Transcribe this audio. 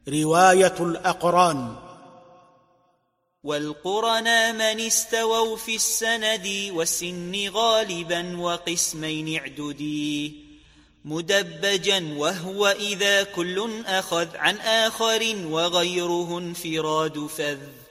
رواية الأقران. والقرنا من استووا في السند والسن غالبا وقسمين اعددي مدبجا، وهو إذا كل أخذ عن آخر وغيره انفراد فذ.